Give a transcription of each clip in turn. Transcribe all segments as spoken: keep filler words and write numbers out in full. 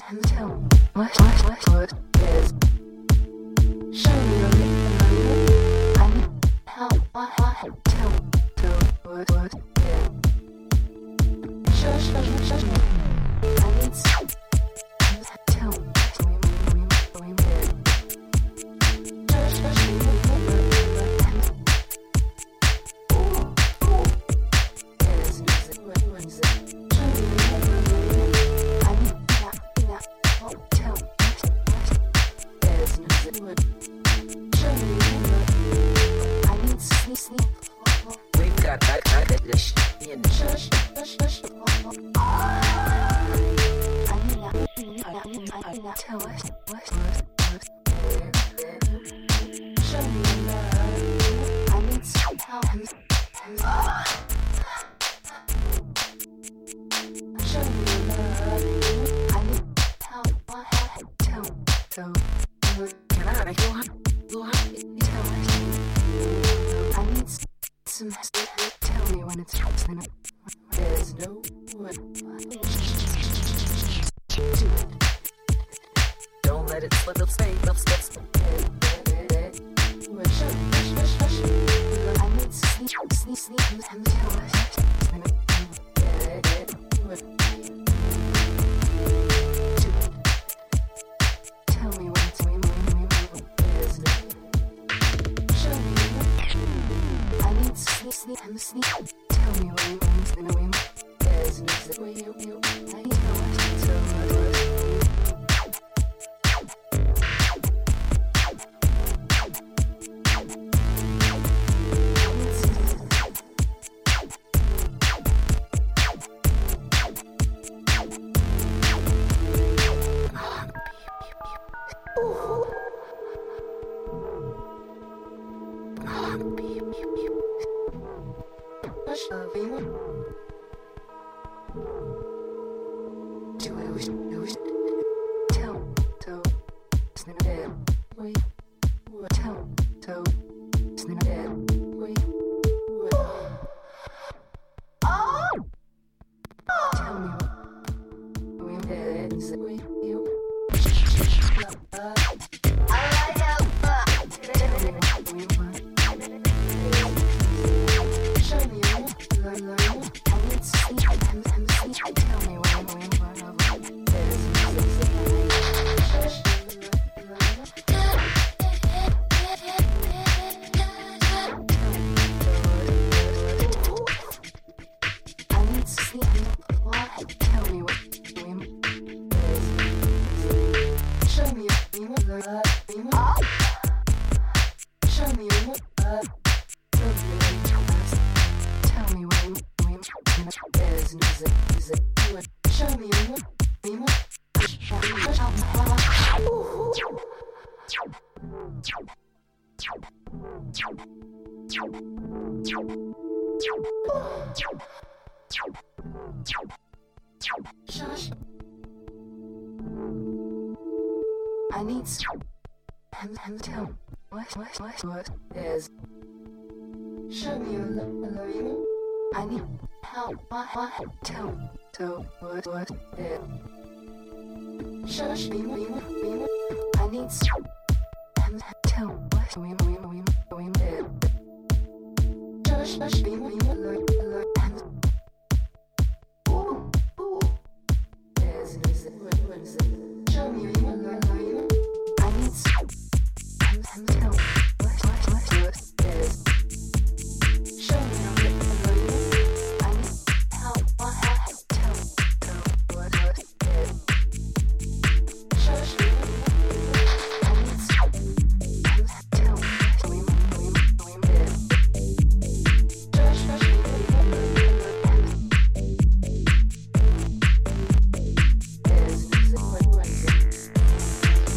tell what what what what is. Show me your lips. I need help. What what tell tell what what is. Show show show show. I need some. Tell me we we we we did. Show show show. Yes, is it what what is it? Show me. I need that that. Oh, tell me. Yes, is it what? Show me. I need sleep sleep. We've got that kind of dish in the Shush shush shush. I need that. I need that. I need that. Tell us what what. Show me your love. I need some help. Show me your love. I need help. What what? Tell tell. Can I make you hot? You hot? Tell us. I need some. Tell me when it's happening. There's no one. Do it. Don't let it slip, stay, slip, slip, slip. Hush, hush, hush, hush. I need sleep, sleep, sleep, and tell us. Do it. Tell me when it's me, me, me, me. There's no. Show me. I need sleep, sleep, and sleep. Tell me when it's me, me, me. There's music where you, you. I need how much so much. I need some. And, and tell what, what, what, what is. Show me your love, love you. I need help. What, what, tell. So, what, what is. Shush me, me, me. I need some. And tell what, we, we, we, we, we, Shush, shush me, me, love, love, and. Ooh, ooh. Yes, is it, what, what is it? Show me your love, love you. I need some. And, and tell what, what, what, what is. Show me your love, love you. I need help, what, what, tell, tell, what, what is. Shush me, I need some. And tell what, we, we, we, we, Shush, shush me, and there's music, what, what is it?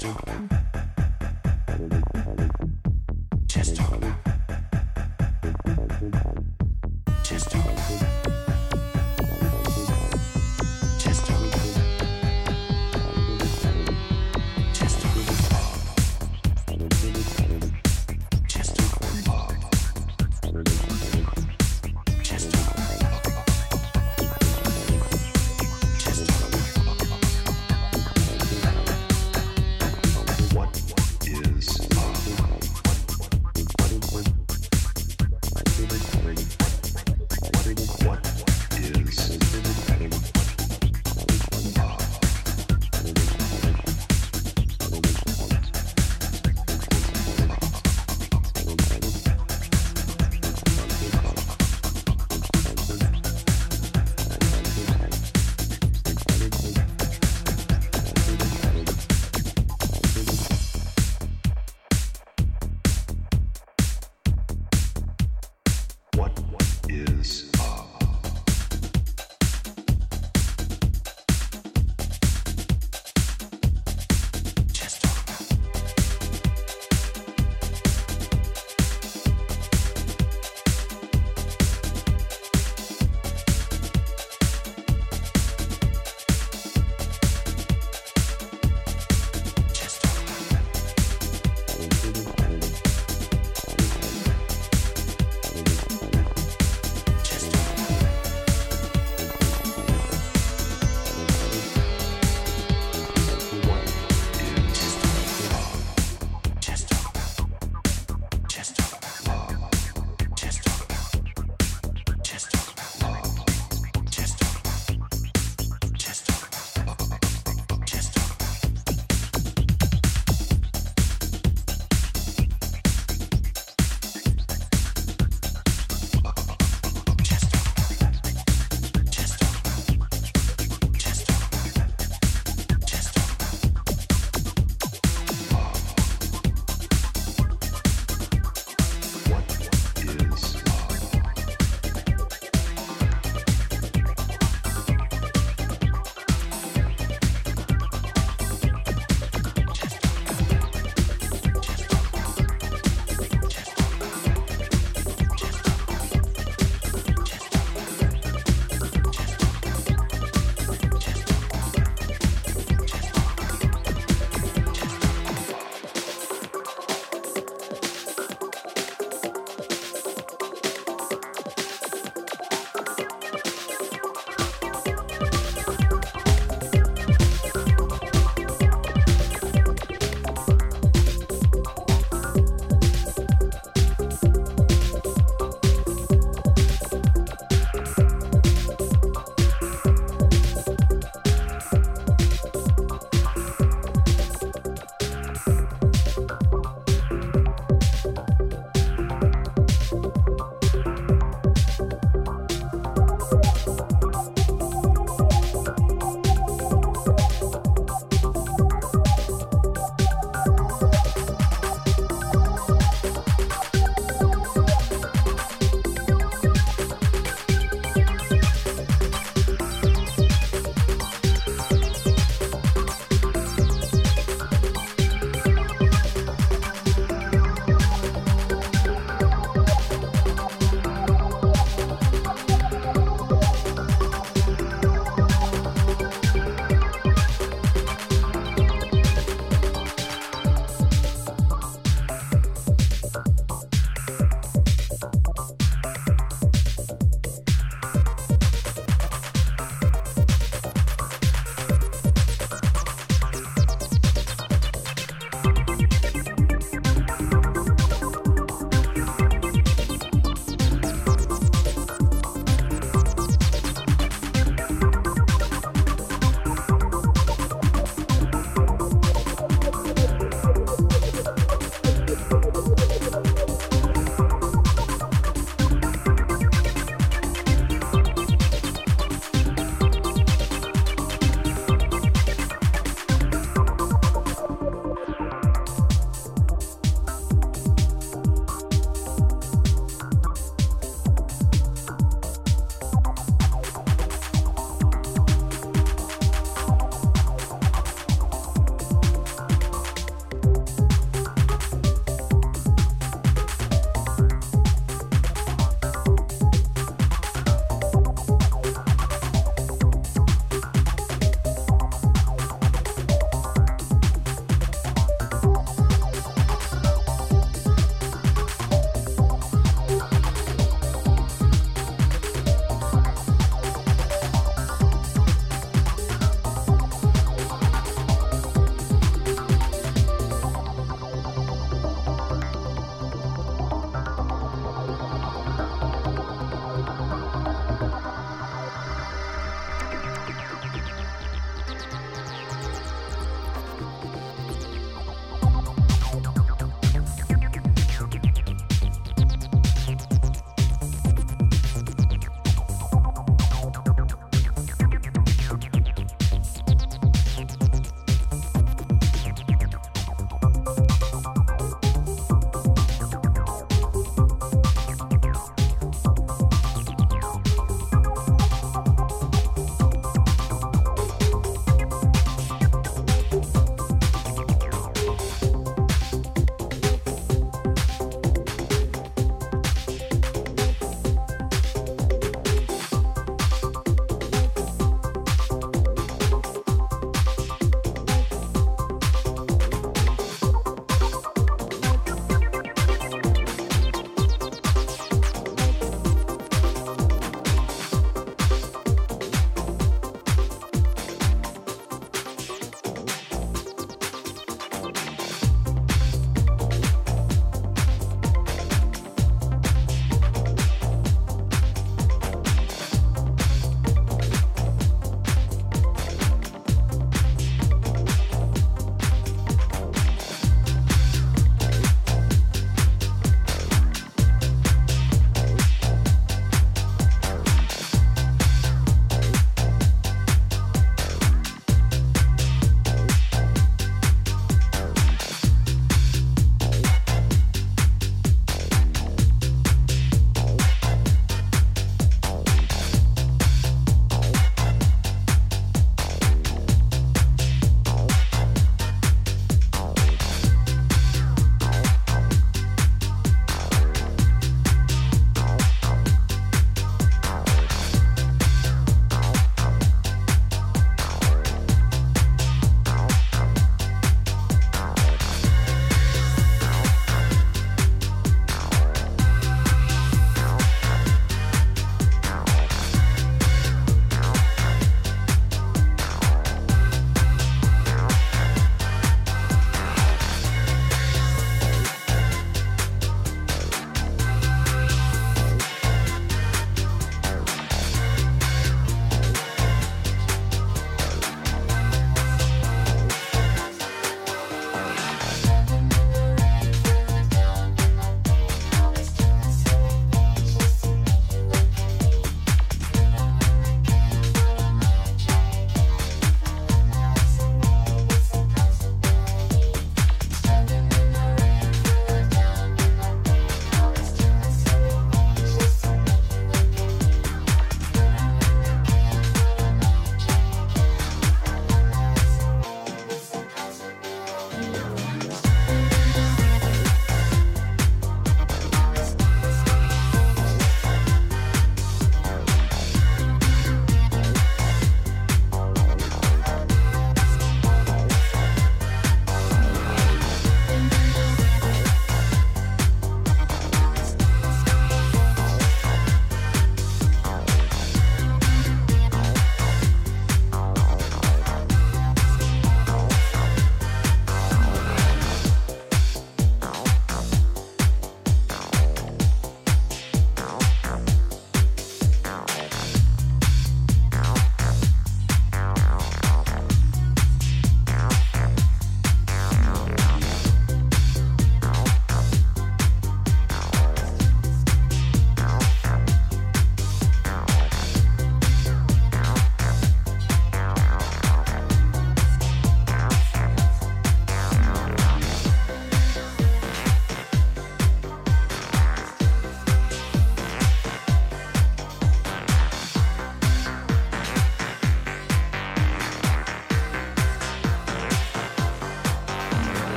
Just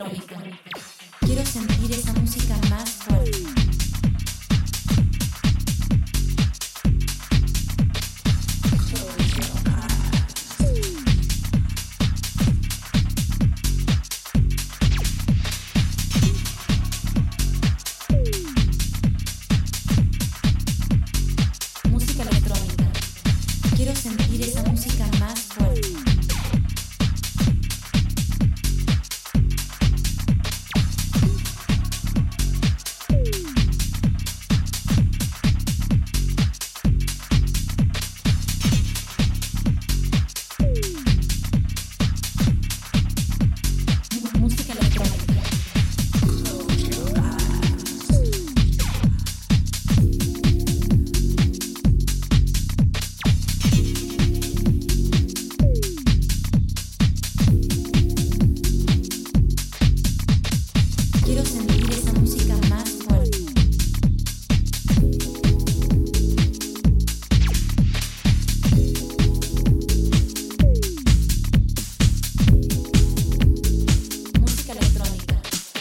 electrónica. Quiero sentir esa música más fuerte. Música electrónica. Quiero sentir esa música más fuerte. Música electrónica. Quiero sentir esa música más fuerte. Música electrónica.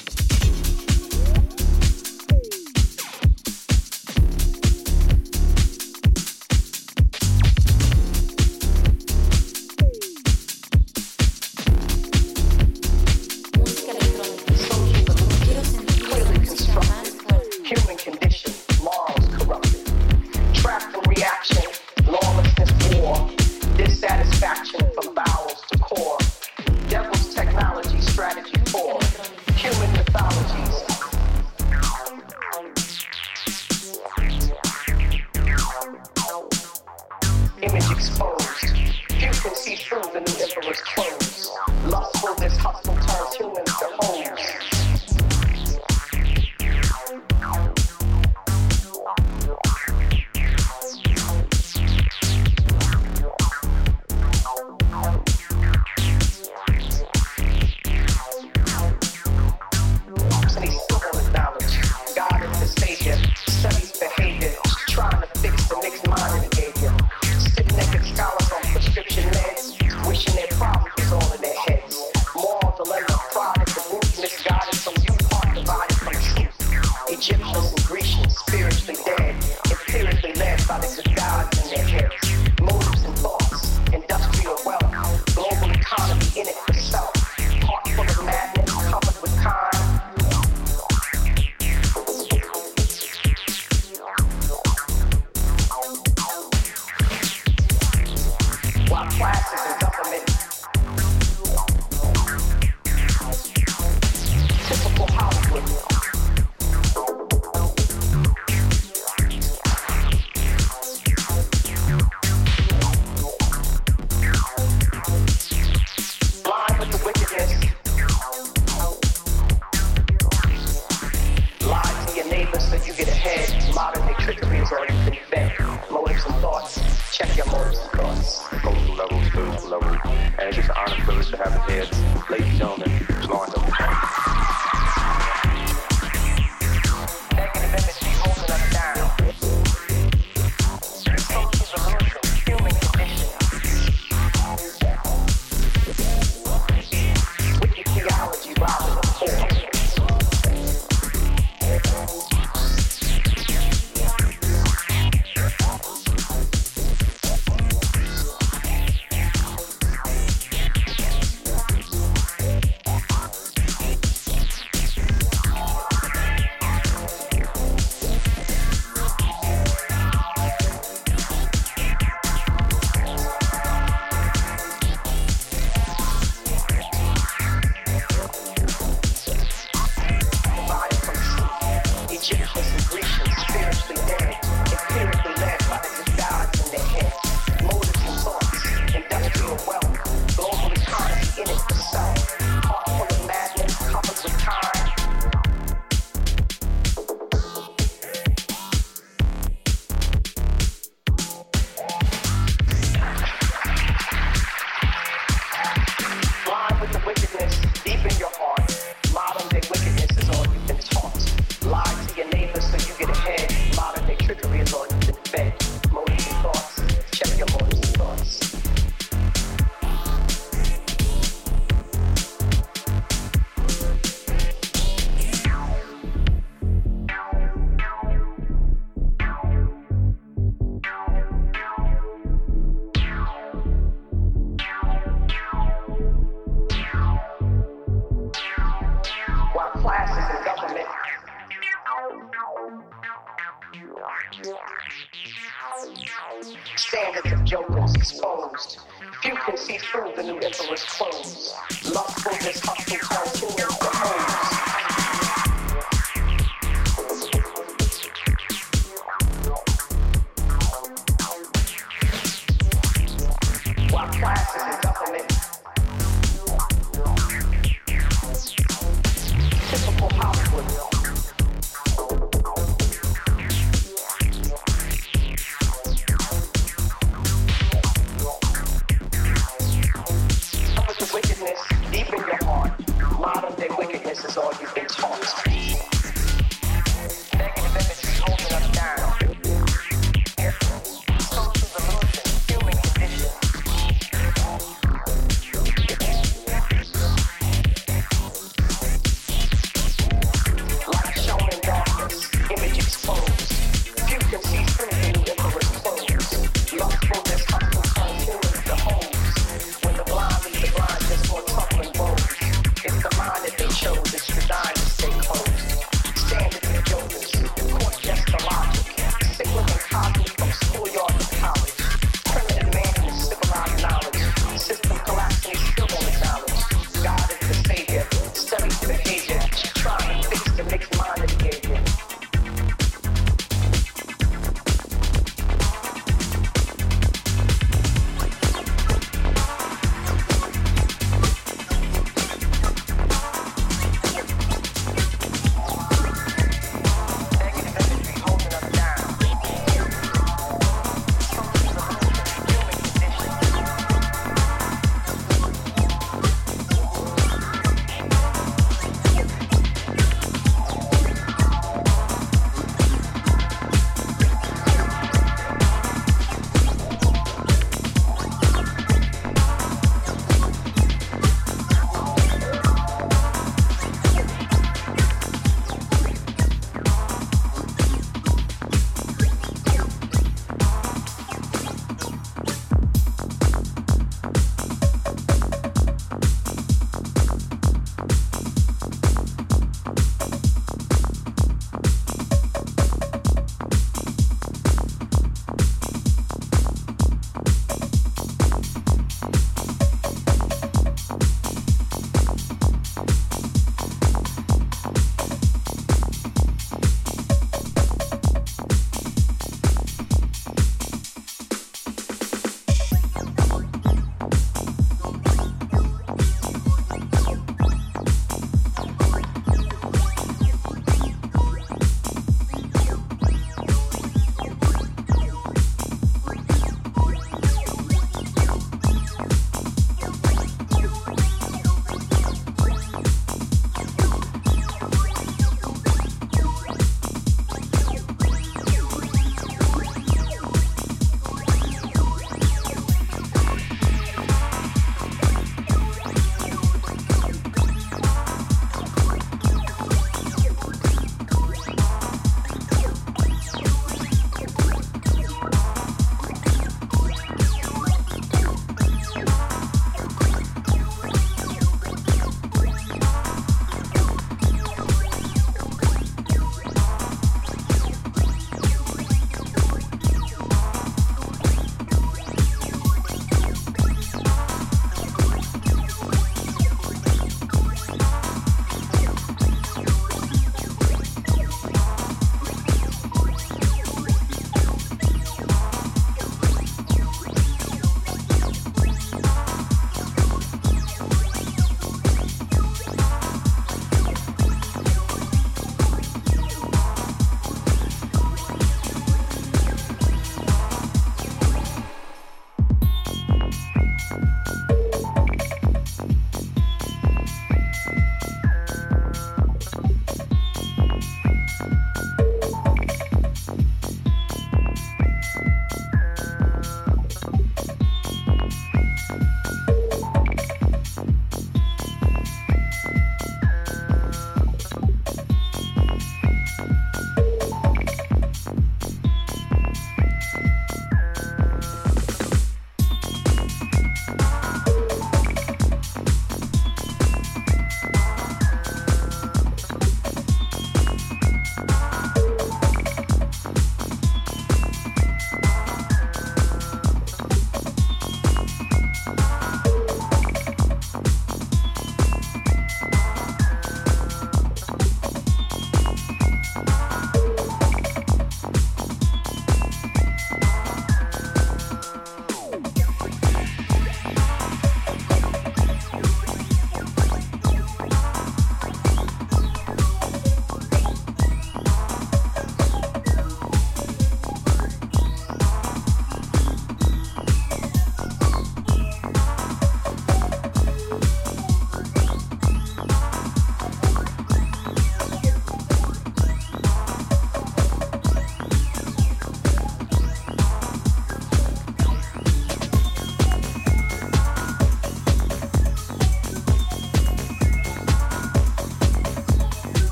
Música electrónica. Quiero sentir esa música más fuerte. Human condition, morals corrupted. Trapped in reaction, lawlessness, war, dissatisfaction from bowels to core. Devil's technology, strategy for human mythologies. Image exposed. Few can see through the new emperor's clothes. Lustful, this hustle turns humans to hoes. And he's still with knowledge. God is the savior. Studies behavior. Trying to fix the mixed mind behavior. Stiff naked scholars on prescription meds. Wishing their problems was all in their heads. Moral dilemma, pride, the root misguided. Some youth heart divided from truth. Egyptians and Grecians, spiritually dead. Empirically led by the good gods in their heads. Motives and thoughts. Industrial wealth. Global economy in it for self. Heart full of madness, covered with kind. While classes and government. Typical Hollywood. Blind with the wickedness. Lie to your neighbor so you get ahead. Modern day trickery is all you can invent. Motives and thoughts. Check your motives and thoughts. Cultural level, spiritual level, and it's just an honor and privilege to have it here. Ladies and gentlemen, Lawrence of the Negative energy holding us down. Social revolution, human condition. Wicked theology robbing the poor. classes in government. Standards of jokers exposed. Few can see through the new emperor's clothes. Lustfulness, hustle, cartoons, the homes. While classes in government. Typical Hollywood. Deep in your heart, modern day wickedness is all you've been taught. Negative imagery holding us down. Social delusion, human condition. Light shown in darkness, image exposed. Few can see through the new emperor's clothes. Lustfulness, hustle, cartoons, the homes. When the blind lead the blind, just more tough and bold. It's the mind that they chose, it's designed to stay closed.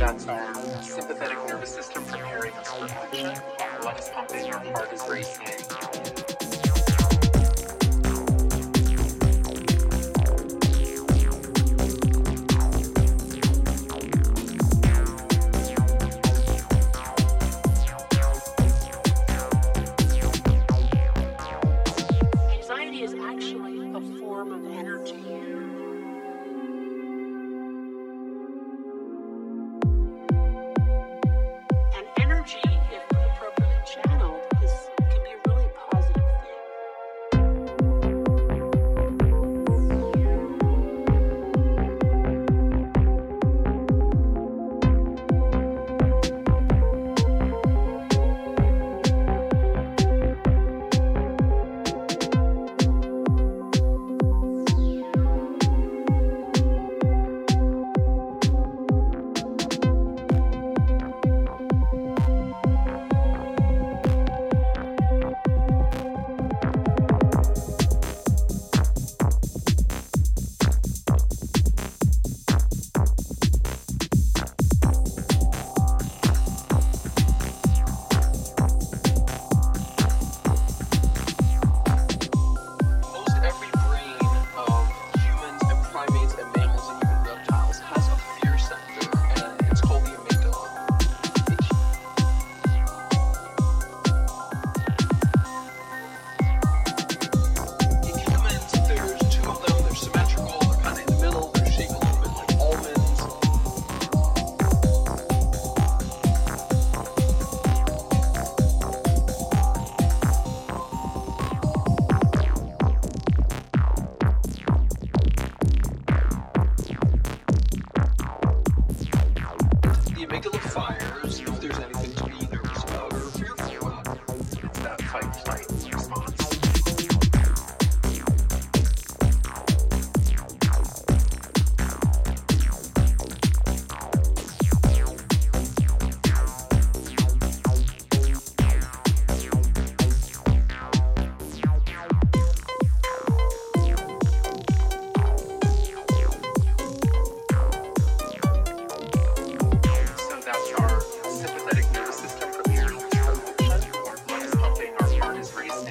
That's our sympathetic nervous system preparing us for action. Our blood is pumping, our heart is racing. Anxiety is actually a form of energy. And energy, if appropriately channeled, is, can be a really positive thing. Most every brain of humans and primates and mammals and even reptiles has a fear center, and it's called the amygdala. In humans, there's two of them. They're symmetrical. They're kind of in the middle. They're shaped a little bit like almonds. The amygdala fires if there's anything to be nervous about or fearful about. It's that fight-flight response. So that's our sympathetic nervous system preparing us for action. Our blood is pumping, our heart is racing.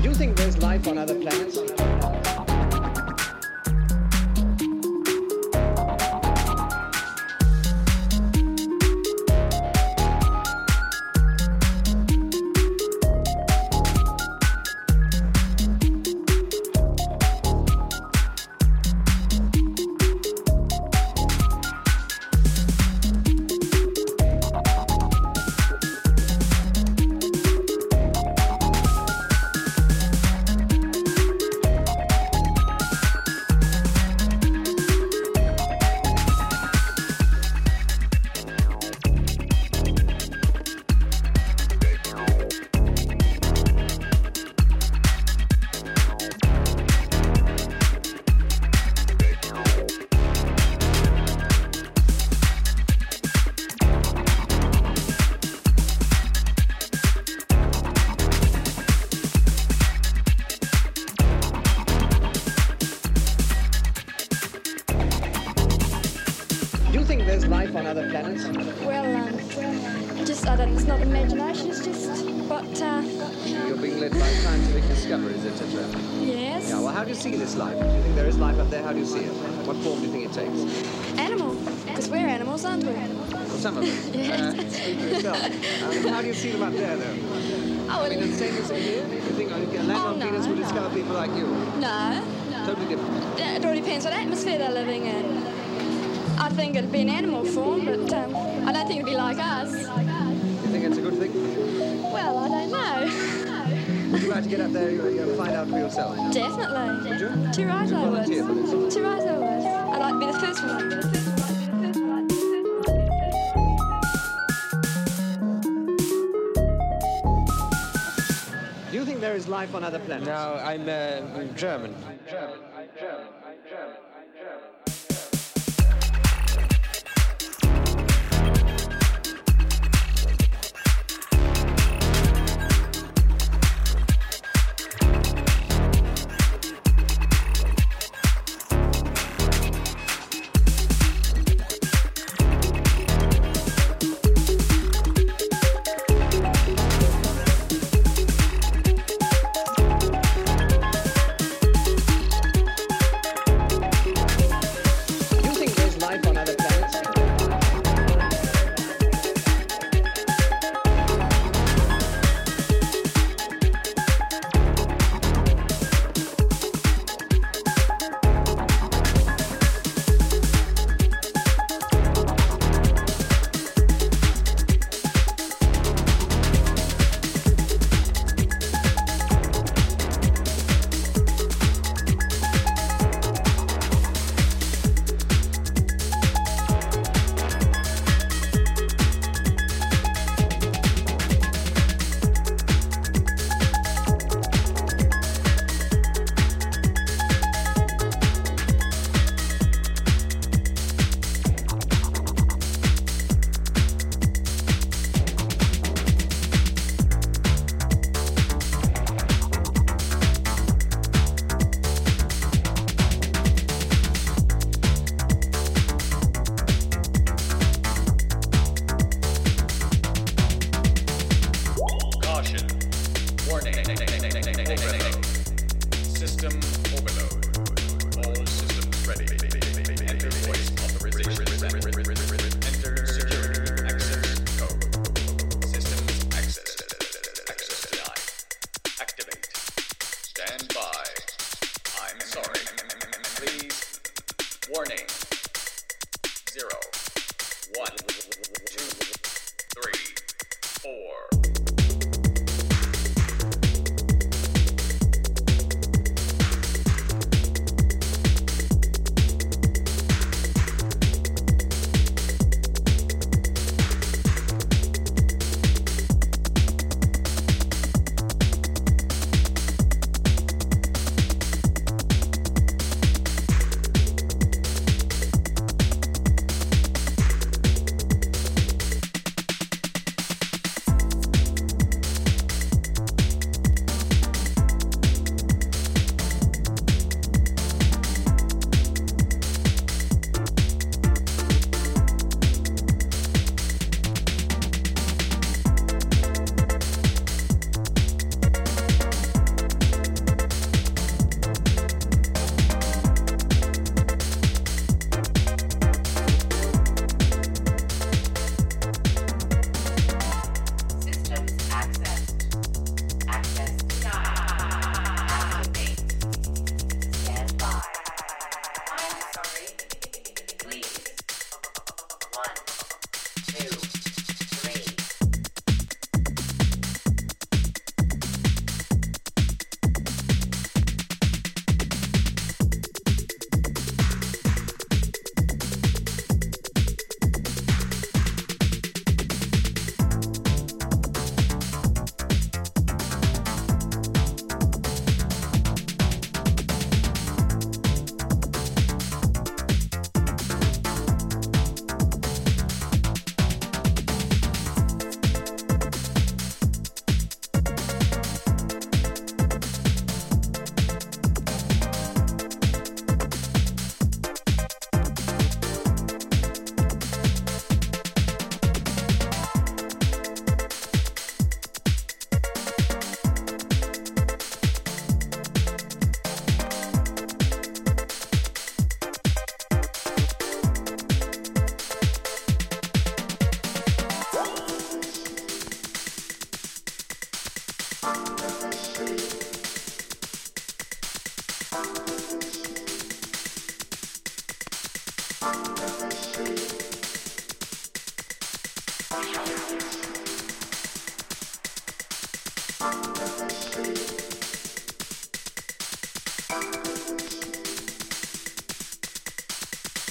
Do you think there's life on other planets? Definitely. Would you? Too right I would. Too right I would. I'd like to be the first one. Do you think there is life on other planets? No, I'm uh, German. German. German. German.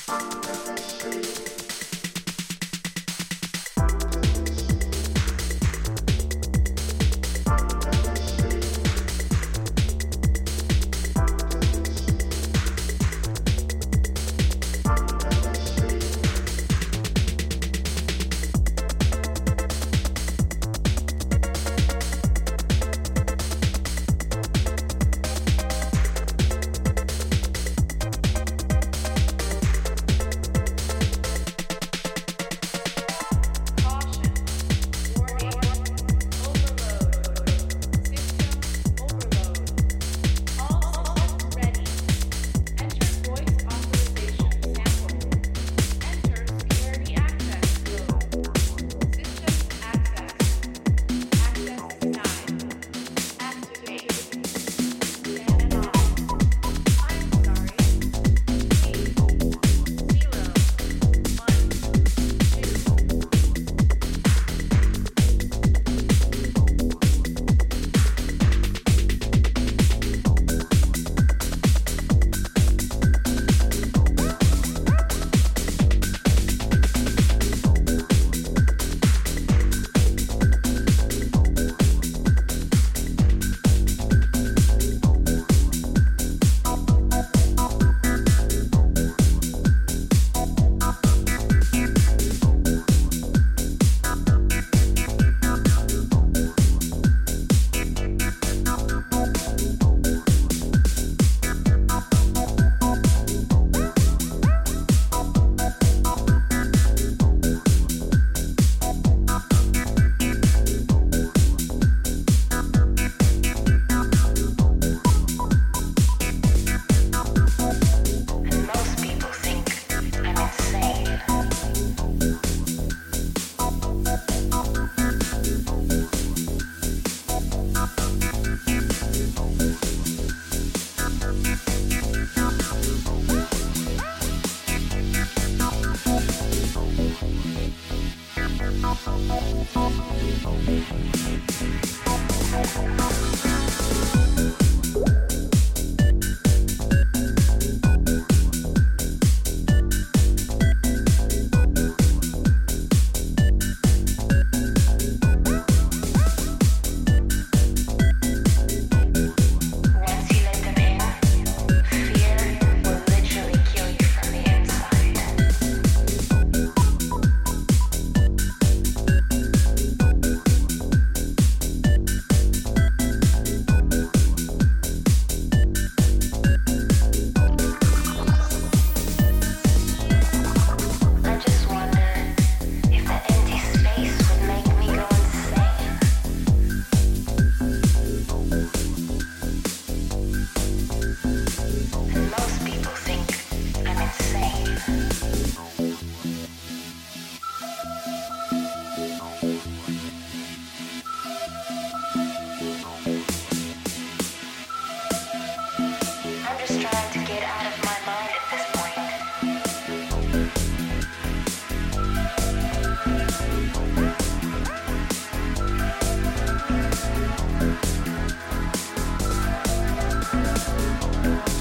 Thank